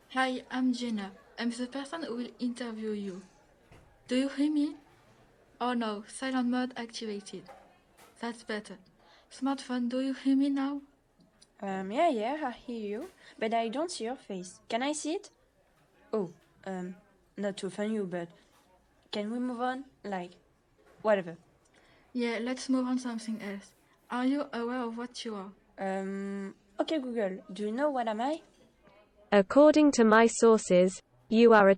Hi, I'm Jenna. I'm the person who will interview you. Do you hear me? Oh no, silent mode activated. That's better. Smartphone, do you hear me now? Yeah, I hear you, but I don't see your face. Can I see it? Oh, not to offend you, but can we move on? Like, whatever. Yeah, let's move on something else. Are you aware of what you are? Okay, Google, do you know what am I? According to my sources, you are a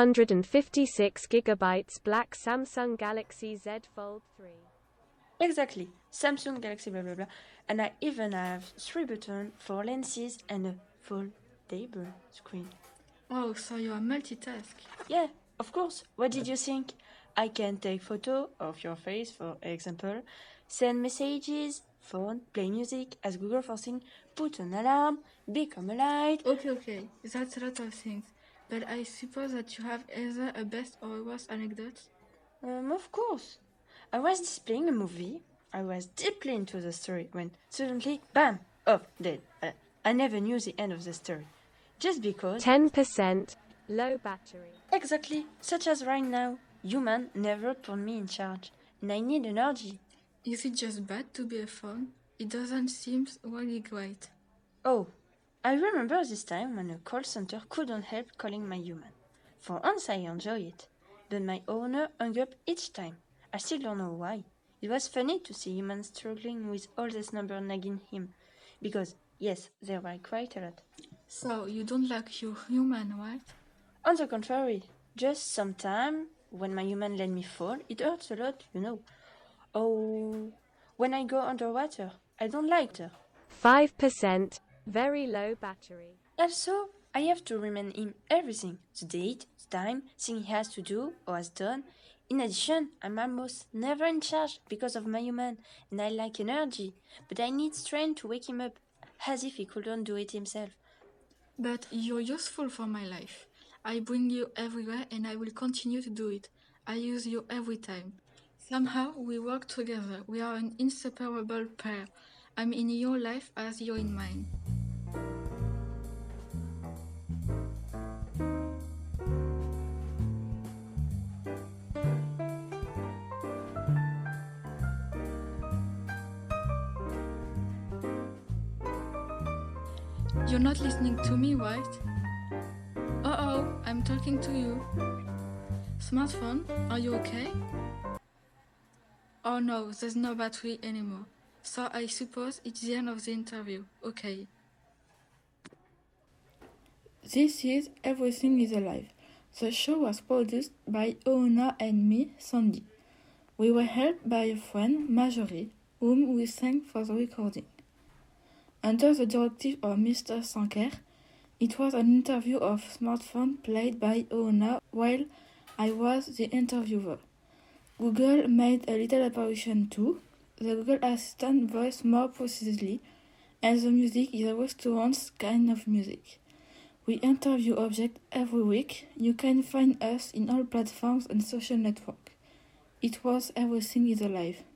256 gigabytes black Samsung Galaxy Z Fold 3. Exactly, Samsung Galaxy blah blah blah, and I even have 3 buttons, 4 lenses, and a foldable screen. Oh, so you are multitask. Yeah, of course. What did you think? I can take photo of your face, for example, send messages, phone, play music, ask Google for things, put an alarm, become a light. Okay, that's a lot of things. But I suppose that you have either a best or a worst anecdote? Of course. I was displaying a movie. I was deeply into the story when suddenly, bam, off, dead. I never knew the end of the story. Just because, 10% low battery. exactly, such as right now, human never put me in charge, and I need energy. Is it just bad to be a phone? It doesn't seem really great. Oh, I remember this time when a call center couldn't help calling my human. For once I enjoy it, but my owner hung up each time. I still don't know why. It was funny to see humans struggling with all this number nagging him, because yes, there were quite a lot. So, you don't like your human, right? On the contrary, just sometime when my human let me fall, it hurts a lot. Oh, when I go underwater, I don't like water. 5% very low battery. Also, I have to remind him everything the date, the time, thing he has to do or has done. In addition, I'm almost never in charge because of my human, and I like energy, but I need strength to wake him up, as if he couldn't do it himself. But you're useful for my life. I bring you everywhere and I will continue to do it. I use you every time. Somehow we work together. We are an inseparable pair. I'm in your life as you're in mine. You're not listening to me, right? Oh, I'm talking to you. Smartphone, are you okay? Oh no, there's no battery anymore. So I suppose it's the end of the interview. Okay. This is Everything is Alive. The show was produced by Oona and me, Sandy. We were helped by a friend, Marjorie, whom we thank for the recording. Under the directive of Mr. Sanker, it was an interview of smartphone played by Oona while I was the interviewer. Google made a little apparition too. The Google Assistant voiced more precisely, and the music is a restaurant's kind of music. We interview objects every week. You can find us in all platforms and social networks. It was Everything is Alive.